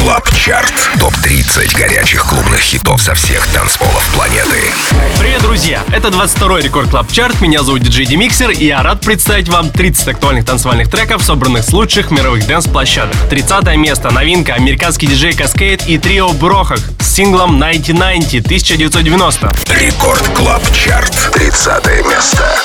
Клаб Чарт. Топ-30 горячих клубных хитов со всех танцполов планеты. Привет, друзья! Это 22-й Рекорд Клаб Чарт. Меня зовут DJ D-Mixer, и я рад представить вам 30 актуальных танцевальных треков, собранных с лучших мировых дэнс-площадок. 30 место. Новинка. Американский диджей Cascade и трио Брохах с синглом 1990. Рекорд Клаб Чарт. 30 место.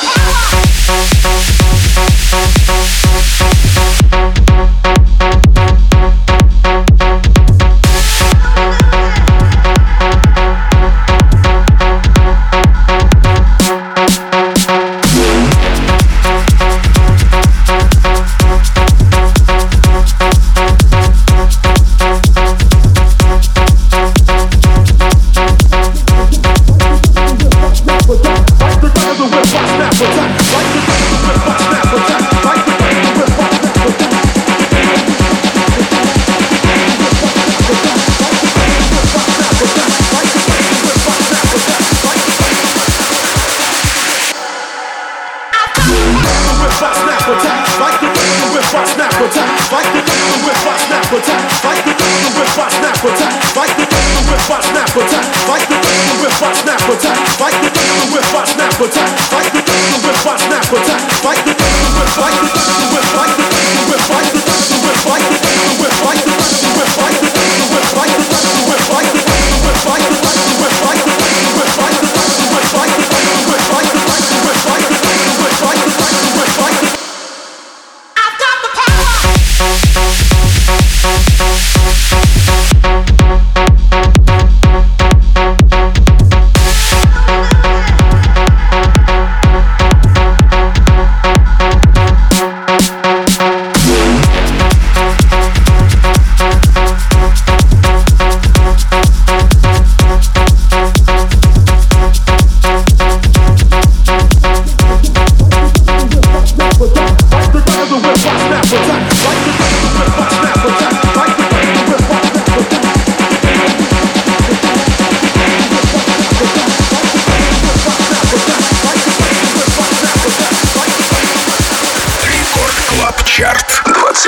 Чарт.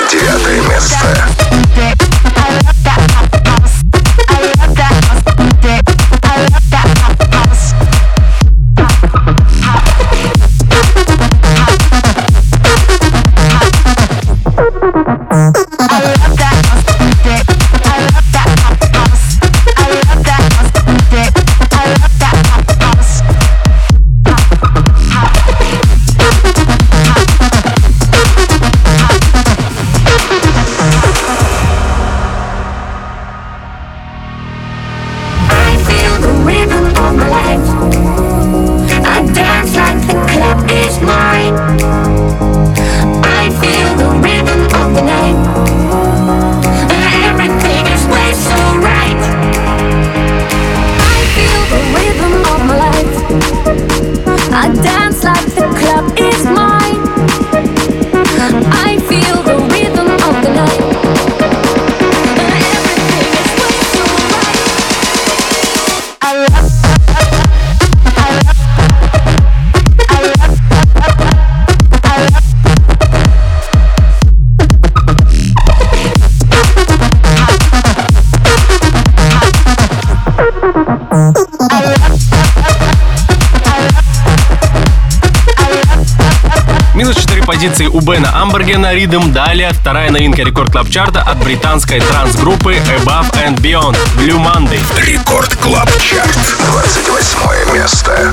29 место. Позиции у Бена Амбергена «Rhythm». Далее вторая новинка Рекорд Клаб Чарта от британской транс-группы Above and Beyond «Blue Monday». Рекорд Клаб Чарт. 28 место.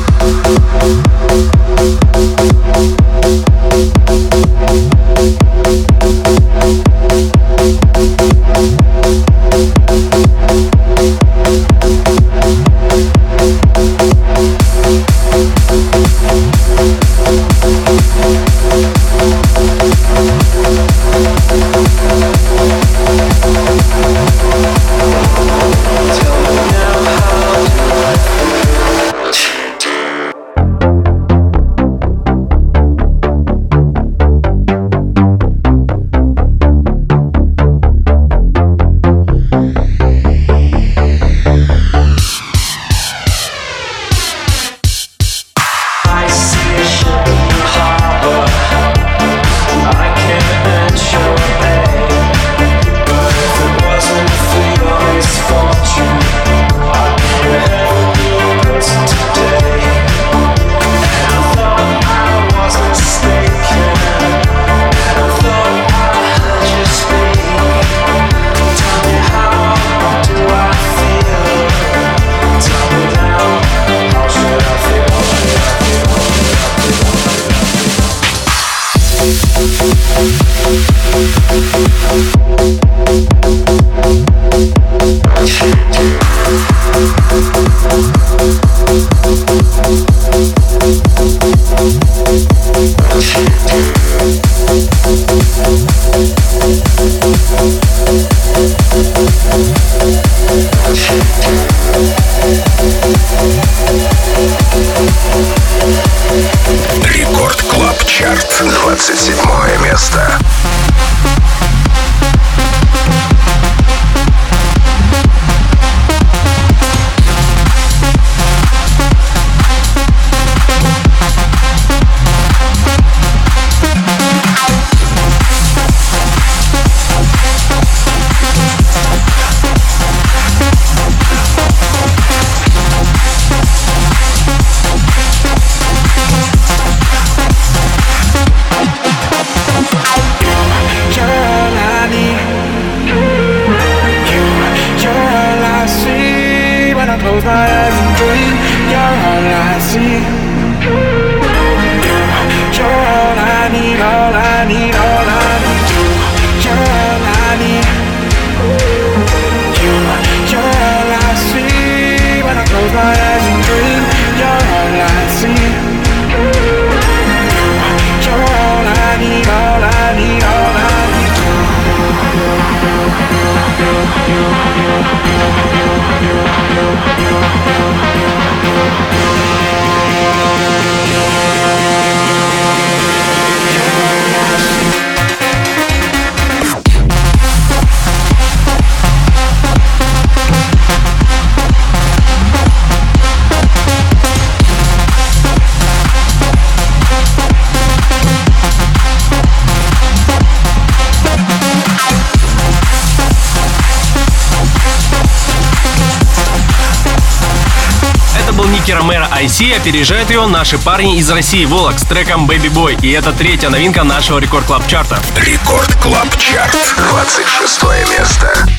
when I close my eyes and dream. You're all I see. You're all I need, all I need, all I need. You're all I need. You're all I see when I close my eyes and dream. You're all I see. You're all I need, all I need, all I need. Ники Ромеро IC, опережают его наши парни из России Волок с треком Baby Boy. И это третья новинка нашего Рекорд Клаб Чарта. Рекорд Клаб Чарт, 26 место.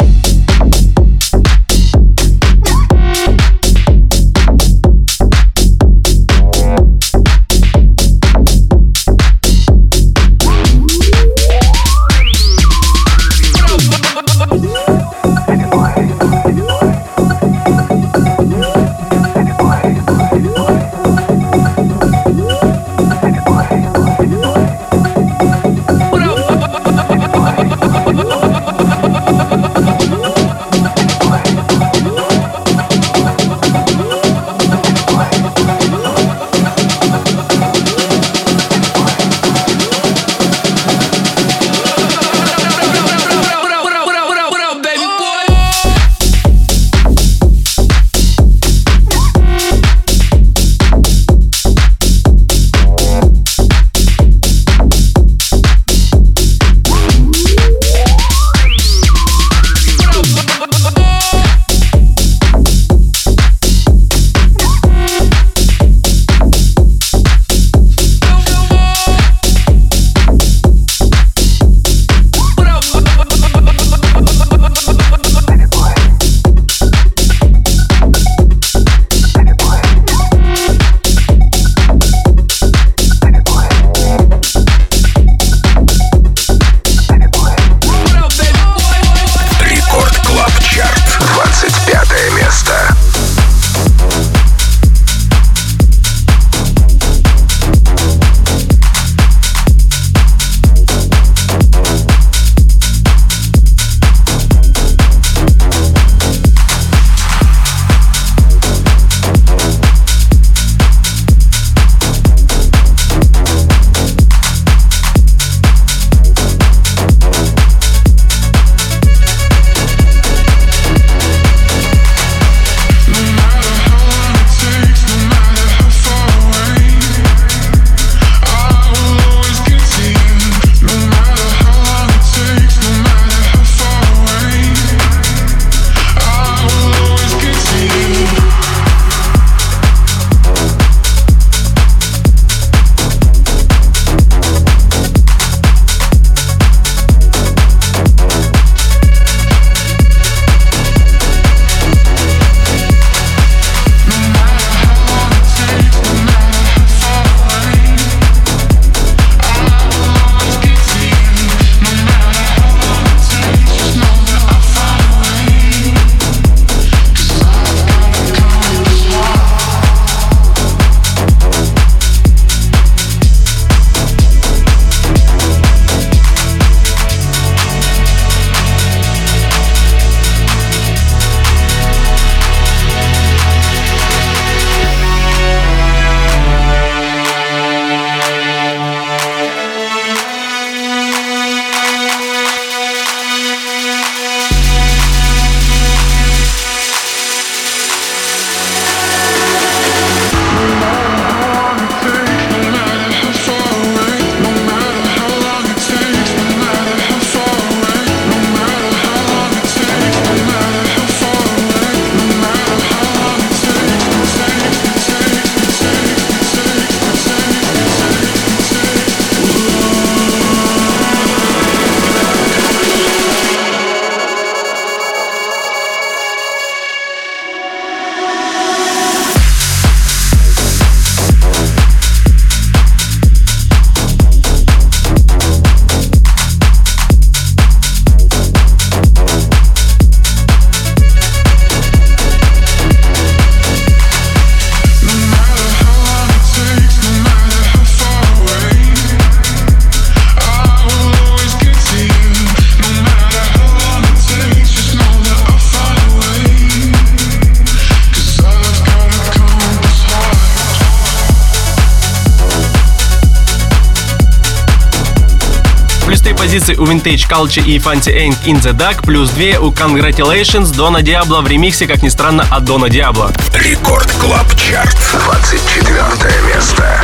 позиций у Vintage Culture и Fancy Ain't In The Dark, плюс 2 у Congratulations Дона Диабло в ремиксе, как ни странно, от Дона Диабло. Рекорд Клаб Чарт, 24 место.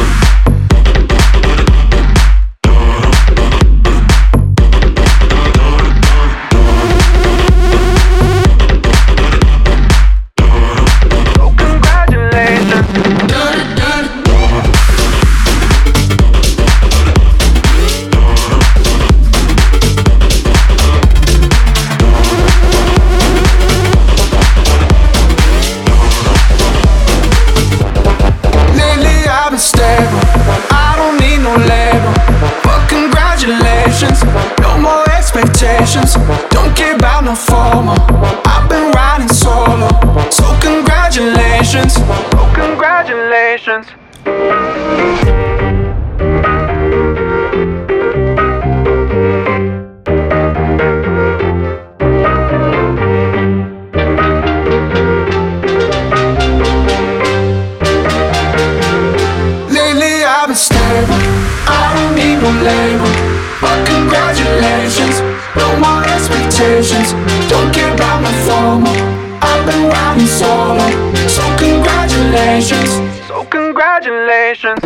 Don't care about no formal. I've been riding solo. So congratulations. Oh, congratulations. Lately I've been stable. I don't need no label. But congratulations. No more expectations. Don't care about my formal. I've been riding solo. So congratulations. So congratulations.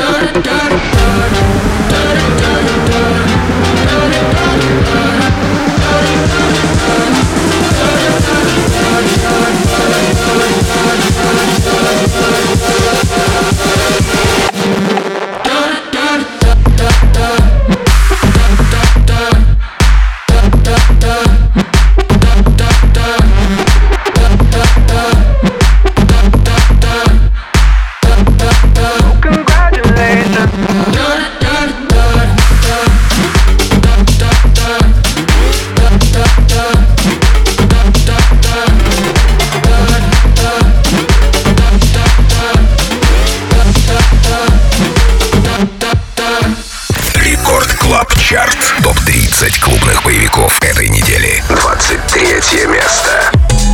Топ-30 клубных боевиков этой недели. 23 место.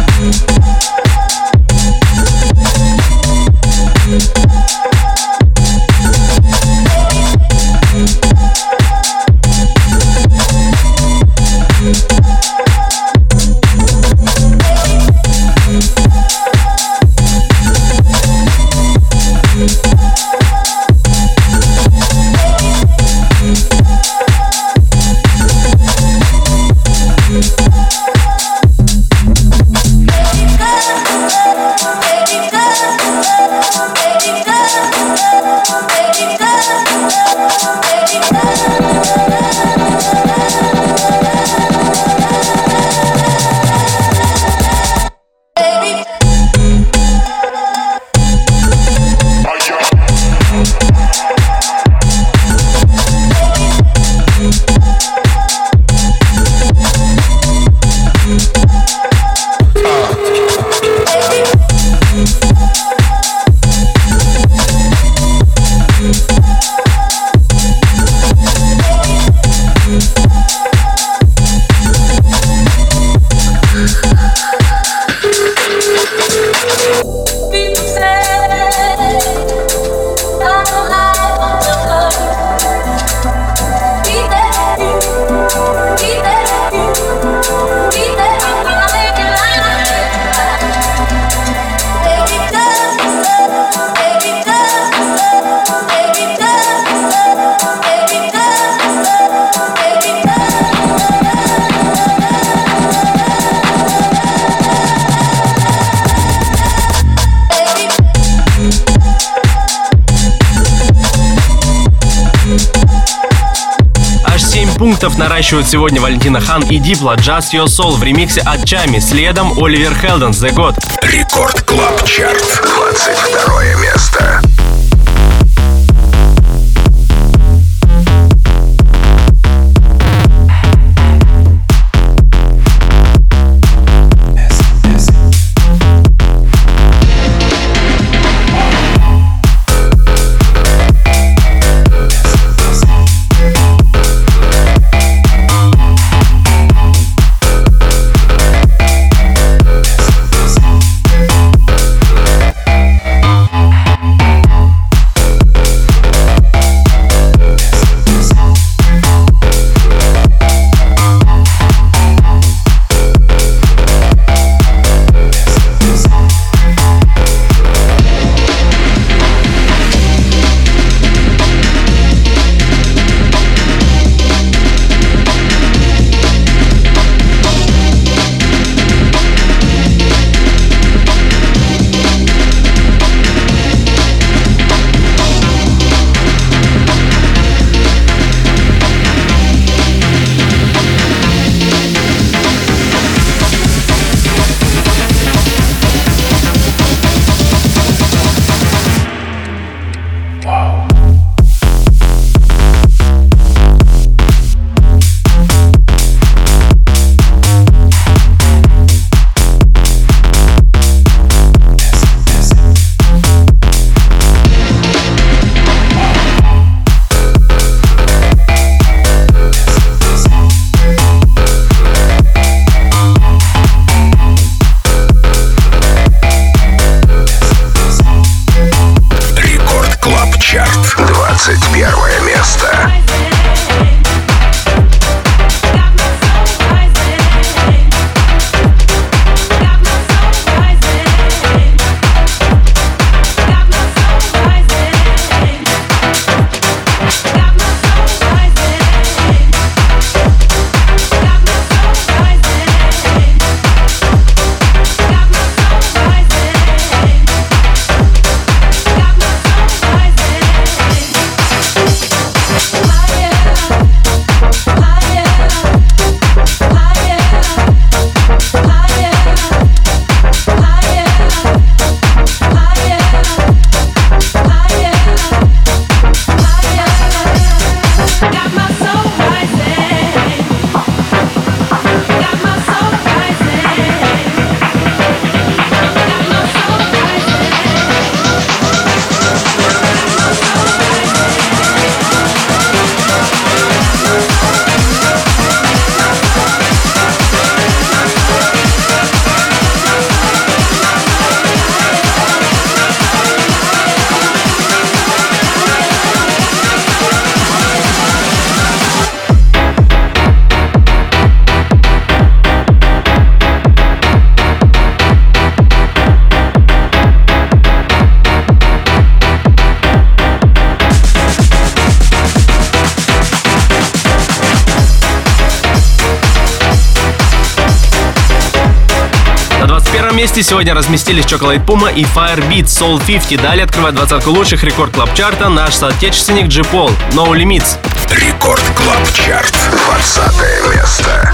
Пунктов наращивают сегодня Валентина Хан и Дипло Just Your Soul в ремиксе от Чами. Следом Оливер Хелденс The God. Рекорд Клаб Чарт, 22 место. 16 месте сегодня разместились Chocolate Puma и Firebeat Soul 50. Далее открывает двадцатку лучших рекорд клаб чарта наш соотечественник J-Paul No Limits. Рекорд Клаб Чарт, 20 место.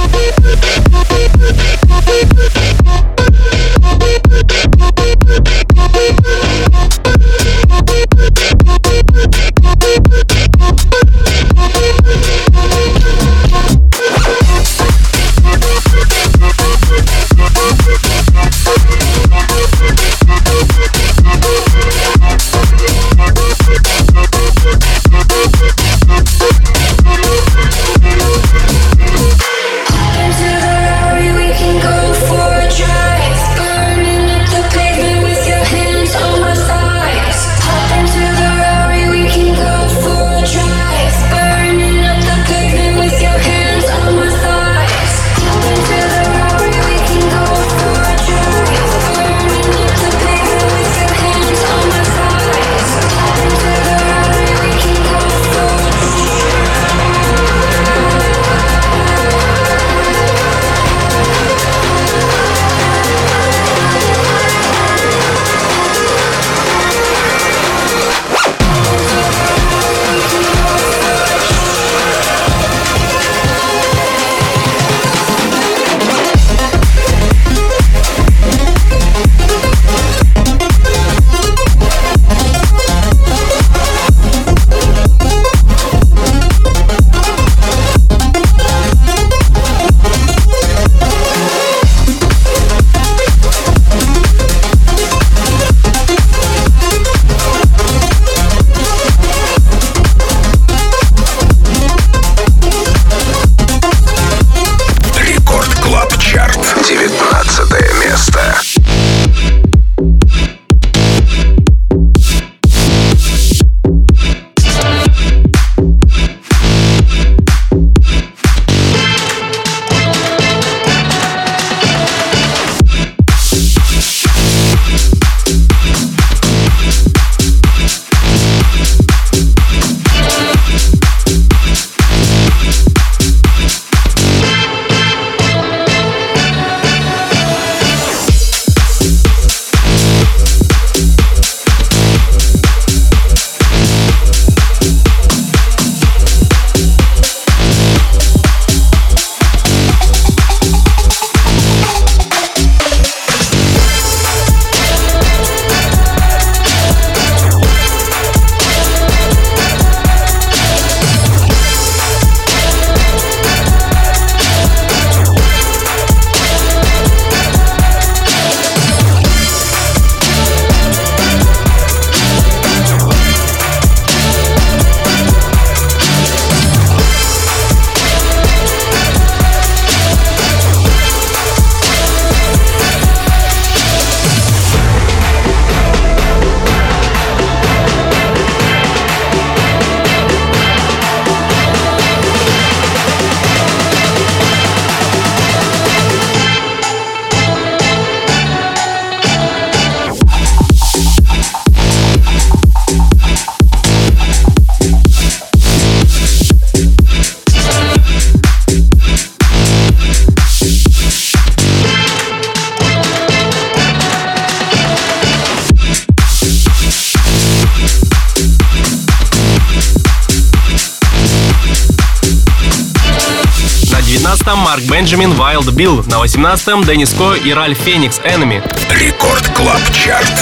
Марк Бенджамин Wild Bill. На 18-м Деннис Ко и Ральф Феникс Enemy. Рекорд Клаб Чарт,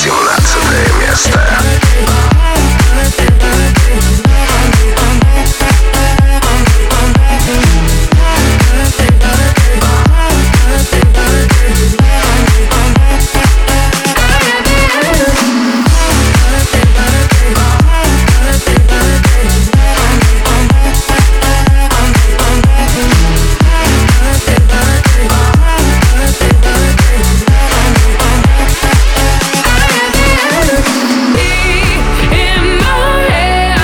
18 место. In my head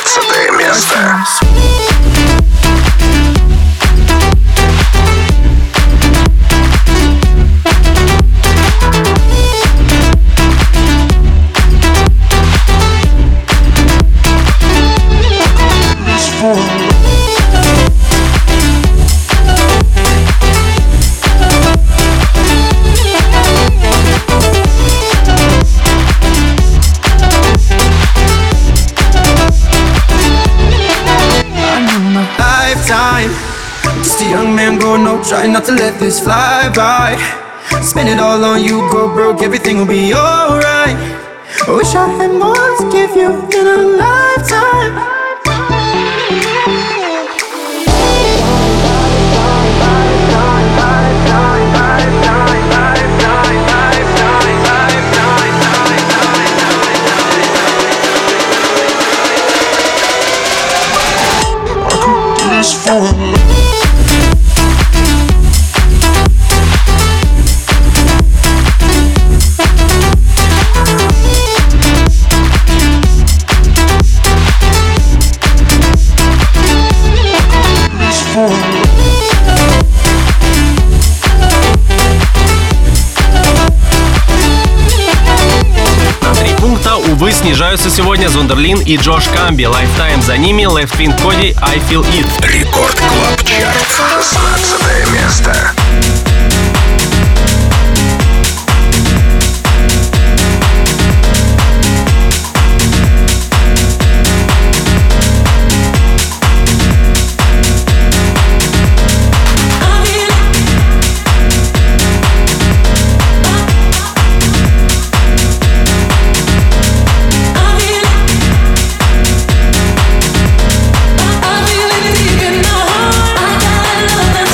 16 место. Just a young man growing up, trying not to let this fly by. Spend it all on you, go broke, everything will be alright. I wish I had more to give you in a lifetime. Увы, снижаются сегодня Зондерлин и Джош Камби. Lifetime за ними, Left Wing Cody, I Feel It. Рекорд Клаб Чарт, 16 место. I feel it deep in my heart. I gotta love.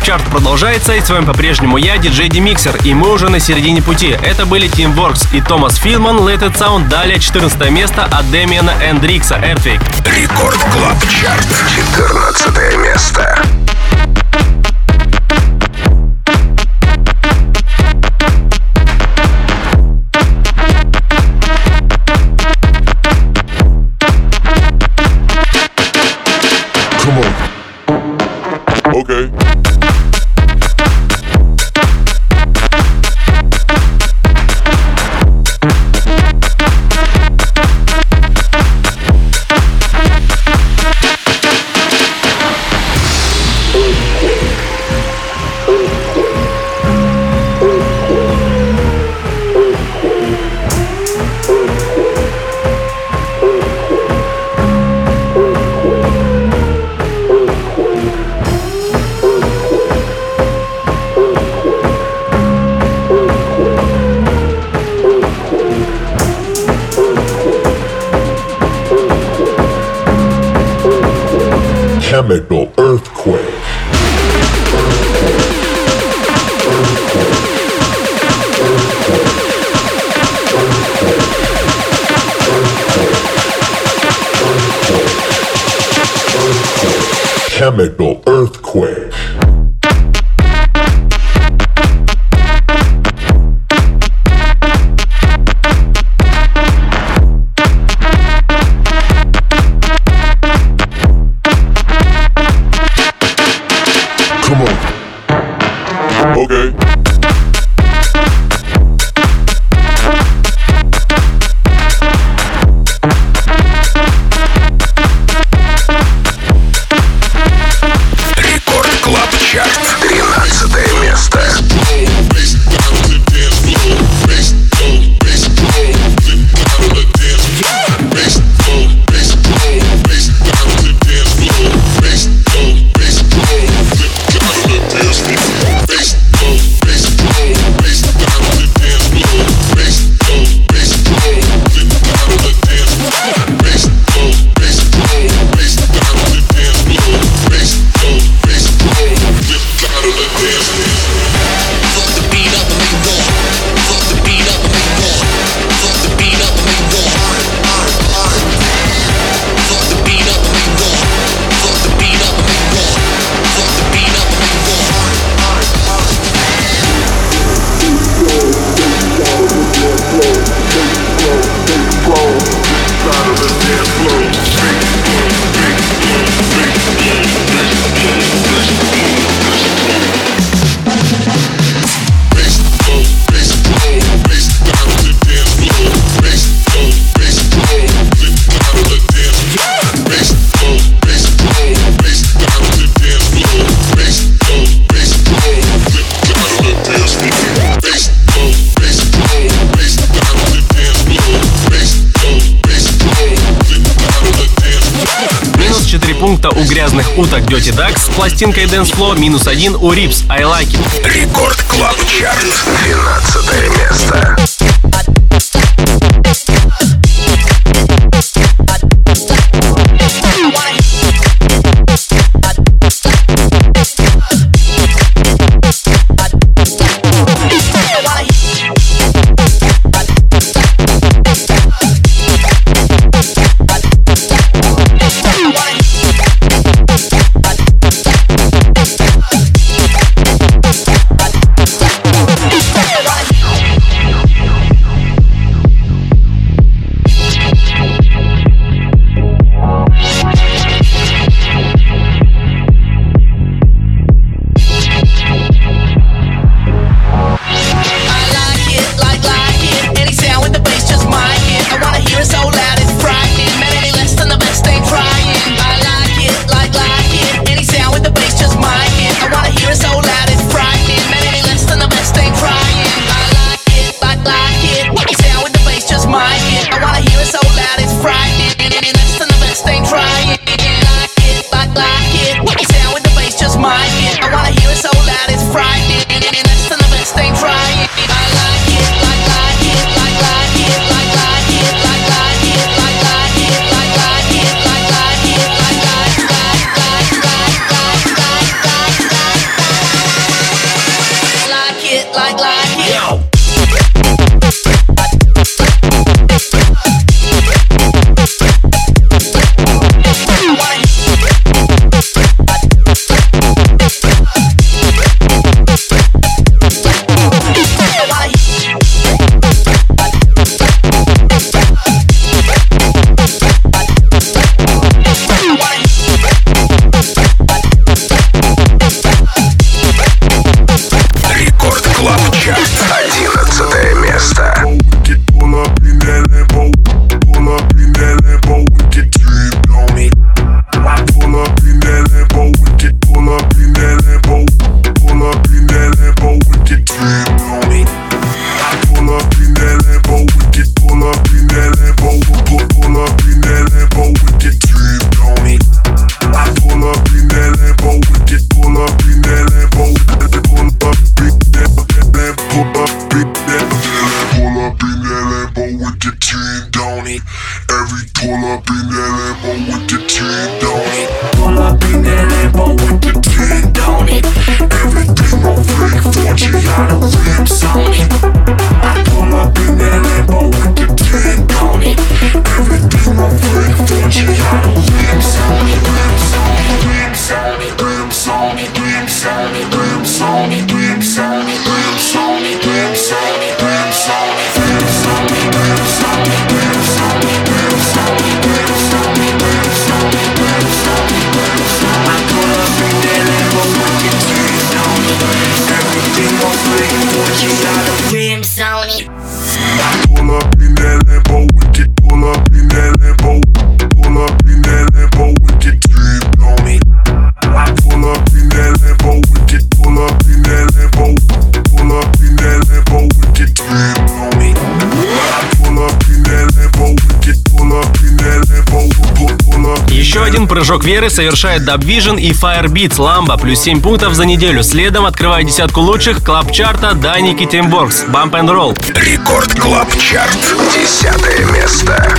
Чарт продолжается, и с вами по-прежнему я, диджей Demixer, и мы уже на середине пути. Это были Teamworks и Томас Филман, Let It Sound, далее 14 место от Дэмиана Эндрикса, Earthquake. Рекорд Клаб Чарт, 14 место. Okay. Chemical earthquake. Chemical earthquake. Okay. Рекорд Клаб Чарт, 13 место. Пункта у грязных уток Dirty Ducks с пластинкой Dance Floor, минус 1 у Rips I Like It. Рекорд Клаб Чарт, 12 место. go. Прыжок веры совершает Dub Vision и Firebeats Lamba, плюс 7 пунктов за неделю. Следом открывает десятку лучших клаб-чарта Даники Тимборкс, Bump and Roll. Рекорд Клаб Чарт, 10 место.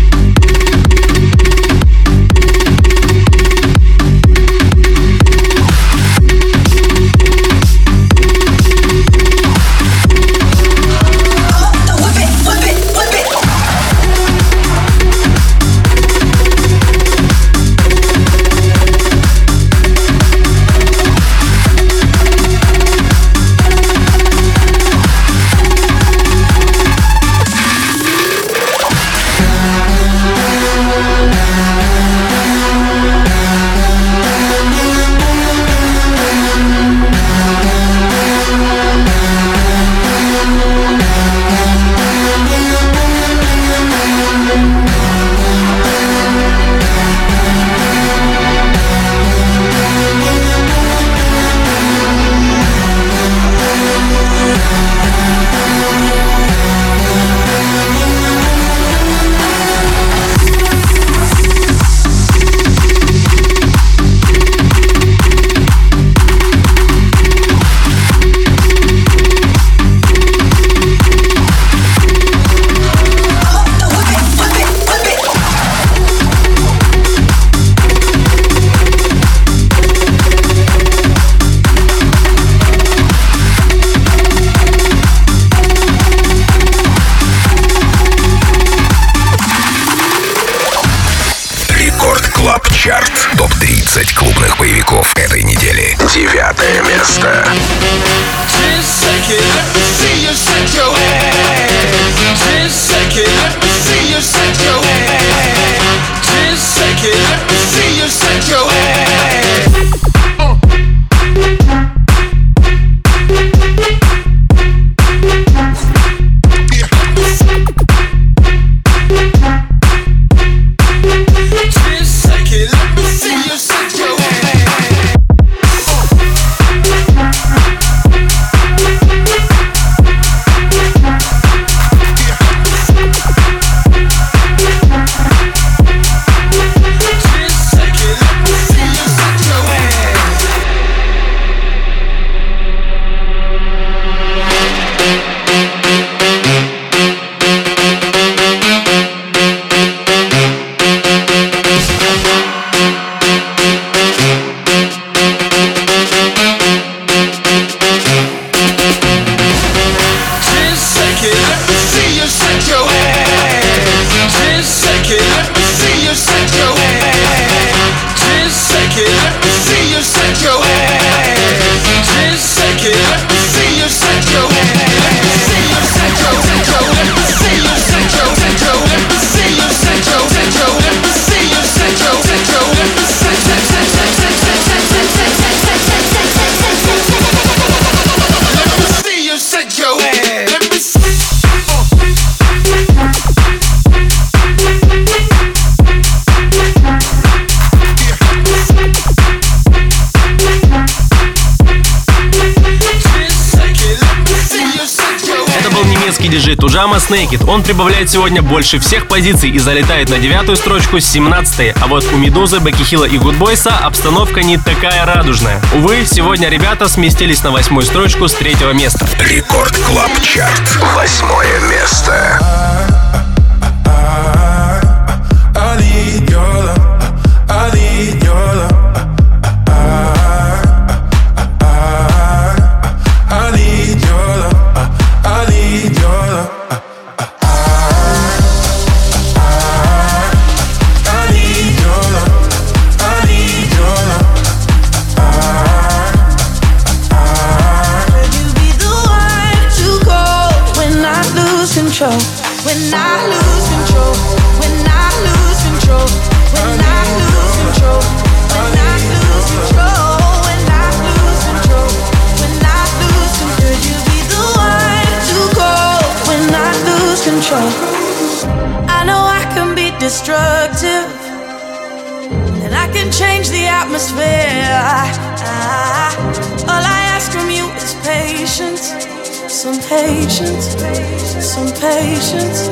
Чарт. Топ-30 клубных боевиков этой недели. 9 место. американский диджей Tujama с Naked. Он прибавляет сегодня больше всех позиций и залетает на 9-ю строчку с 17-й. А вот у Медузы, Бекки Хилла и Гудбойса обстановка не такая радужная. Увы, сегодня ребята сместились на 8-ю строчку с 3-го места. Рекорд Клаб Чарт. 8-е место. When I lose control, when I lose control, when I lose control, when I lose control, when I lose control, when I lose control, could you be the one to go when I lose control? I know I can be destructive, and I can change the atmosphere. All I ask from you is patience. Some patience, some patience.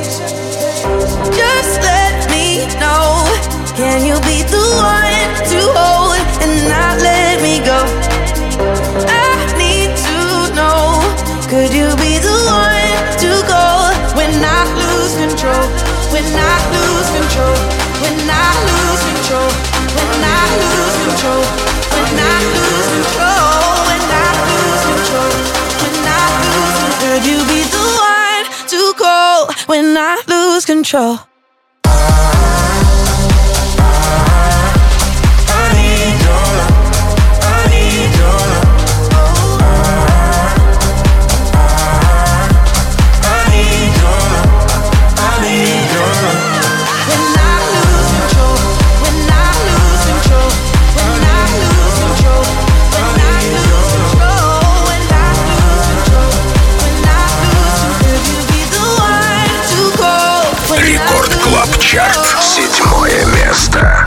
Just let me know. Can you be the one to hold and not let me go? I need to know. Could you be the one to go when I lose control? When I lose control? When I lose control? When I lose control? When I lose control? When I lose control? Could you be the one to go when I lose control? Чарт. 7-е место.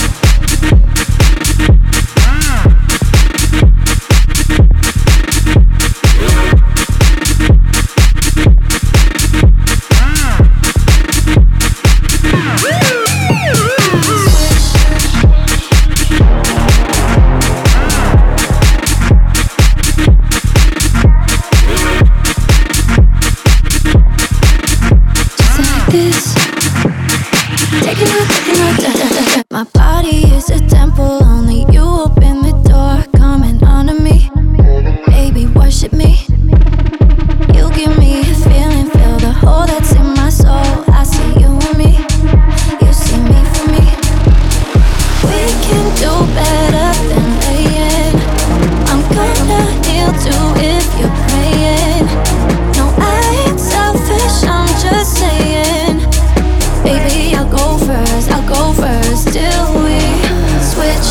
My body is a temple, only you open the door. Coming onto me, baby, worship me. You give me a feeling, feel the hole that's in my soul. I see you and me, you see me for me. We can do better than laying. I'm gonna kneel to if you're praying. No, I ain't selfish, I'm just saying. Baby, I'll go first, till we switch.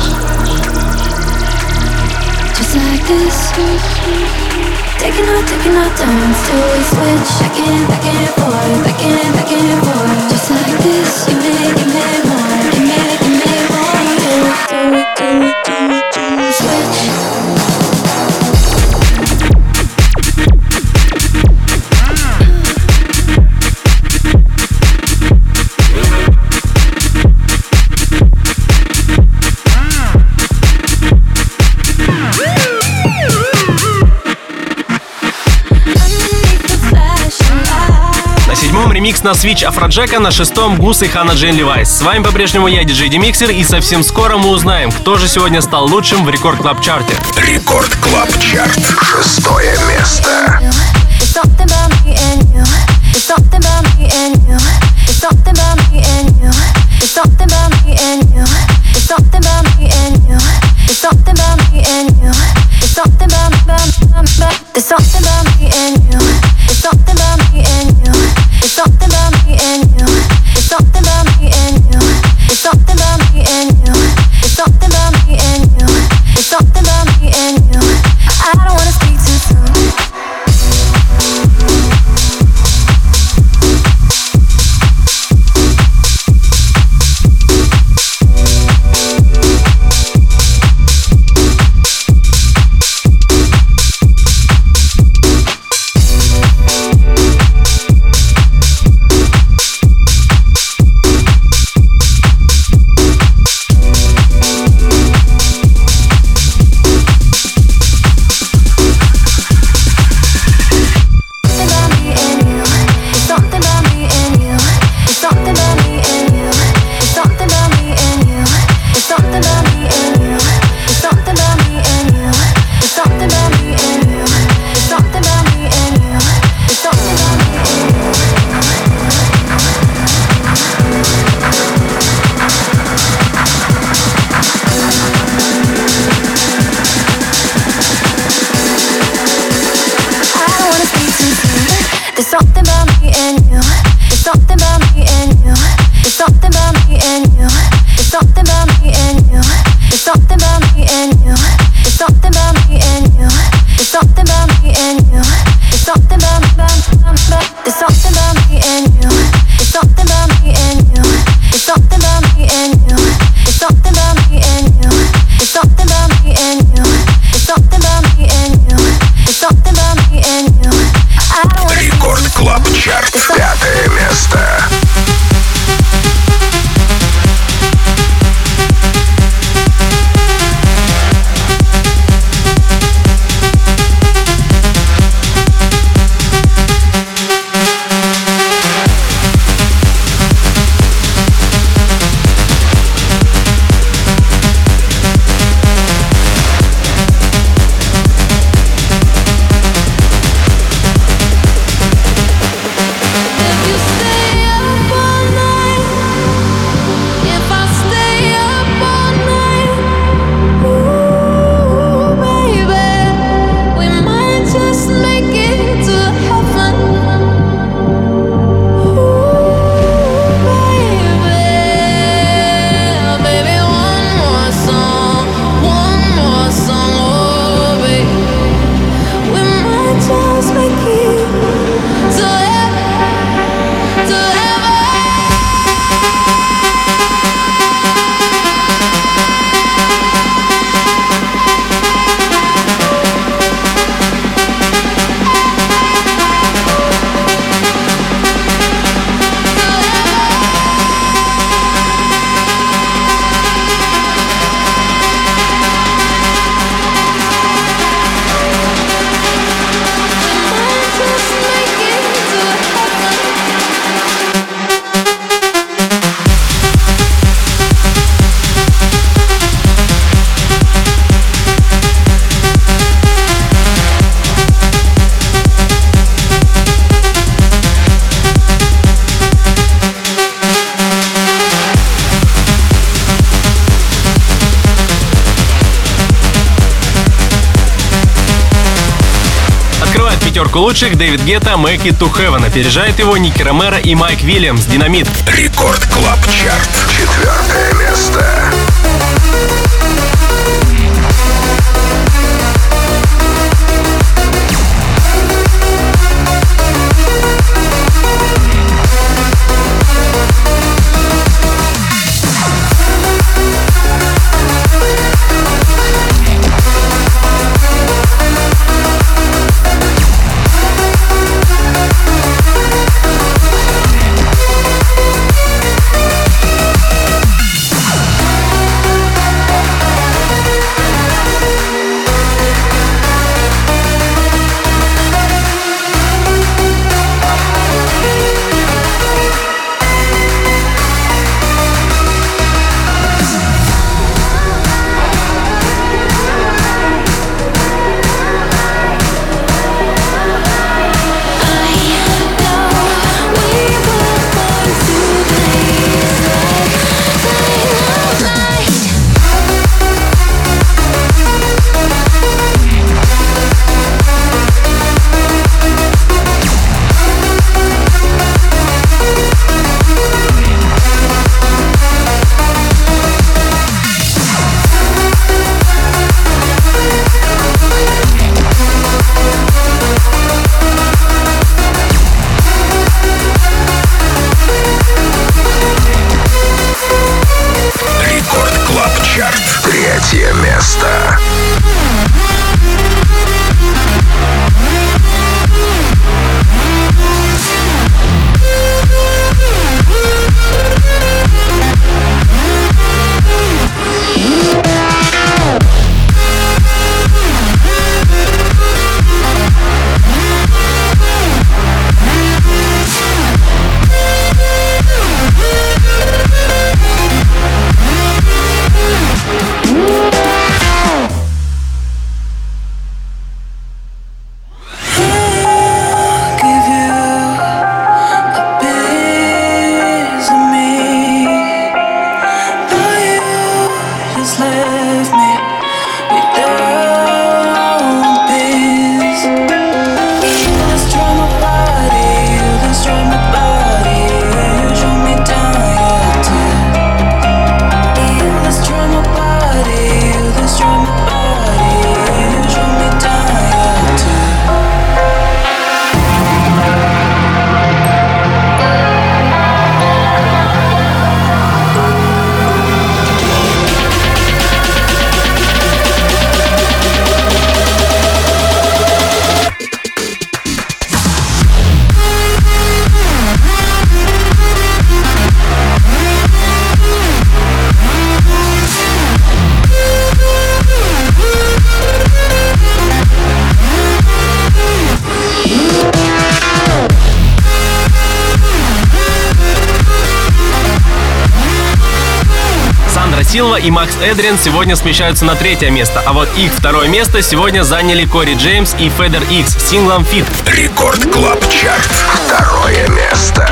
Just like this. Taking our turns till we switch. Back and forth, back and forth. Just like this. You made more, you made more. Do, switch. Ремикс на Switch Афроджека, на 6-м Гус и Ханна Джейн Левайс. С вами по-прежнему я, диджей Демиксер, и совсем скоро мы узнаем, кто же сегодня стал лучшим в Рекорд Клаб Чарте. Рекорд Клаб Чарт. 6-е место. I don't wanna speak too soon. something about me and you. There's something about me and you. There's something about me and you. There's something about me and you. There's something about me and you. There's something about me and you. There's something about me and you. There's something about there's something about me and you. There's something about me and you. There's something about me and you. There's something about me and you. There's something about me and you. There's something about me and you. There's something about me and you. Рекорд Клаб Чарт, 5-е место. Пятерку лучших Дэвид Гетта «Make It to Heaven». Опережает его Ники Ромеро и Майк Вильямс «Динамит». Рекорд Клаб Чарт, 4-е место. Силва и Макс Эдриан сегодня смещаются на 3-е место, а вот их 2-е место сегодня заняли Кори Джеймс и Федер Икс с синглом «Fit». Рекорд Клаб Чарт. 2-е место.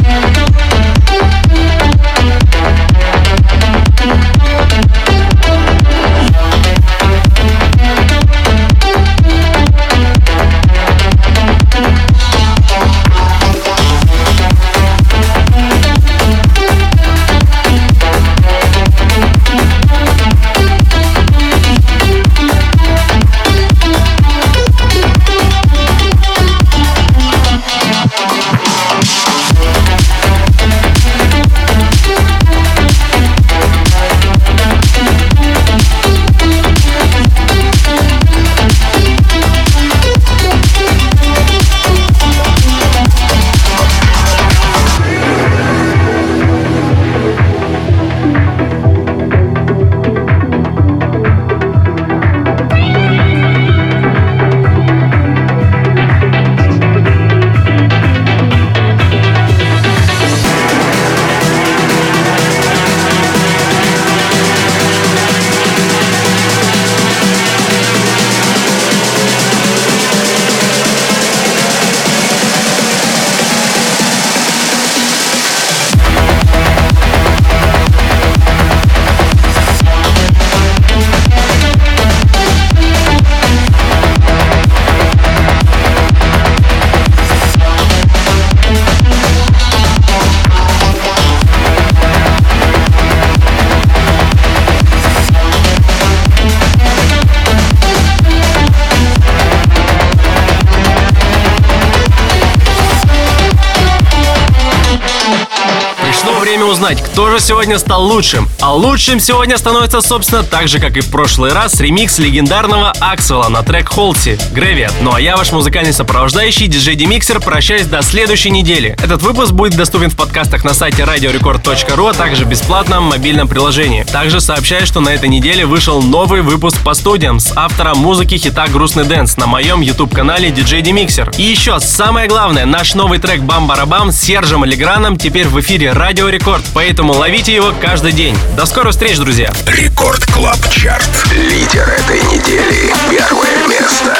Узнать, кто же сегодня стал лучшим. А лучшим сегодня становится, собственно, так же, как и в прошлый раз, ремикс легендарного Аксвелла на трек Halsey Graveyard. Ну а я, ваш музыкальный сопровождающий, диджей D-Mixer, прощаюсь до следующей недели. Этот выпуск будет доступен в подкастах на сайте radiorecord.ru, а также в бесплатном мобильном приложении. Также сообщаю, что на этой неделе вышел новый выпуск по студиям с автором музыки хита «Грустный дэнс» на моем YouTube-канале диджей D-Mixer. И еще, самое главное, наш новый трек «Бам-барабам» с Сержем Леграном теперь в эфире Радио Рекорд, поэтому ловите его каждый день. До скорых встреч, друзья! Рекорд Клаб Чарт. Лидер этой недели. 1-е место.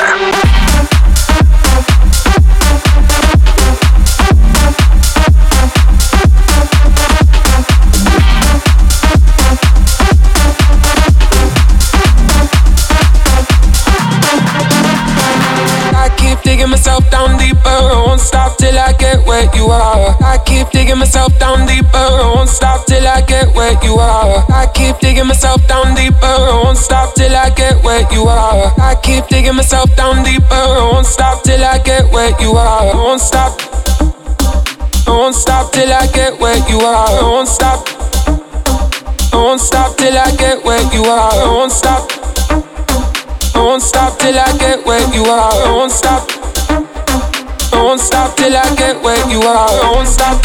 Digging myself down deeper, I won't stop till I get where you are. I keep digging myself down deeper, I won't stop till I get where you are. I keep digging myself down deeper, I won't stop till I get where you are. I keep digging myself down deeper, I won't stop till I get where you are. I won't stop, I won't stop till I get where you are. I won't stop, I won't stop till I get where you are. I won't stop, I won't stop till I get where you are. I won't stop, I won't stop till I get where you are. I won't stop.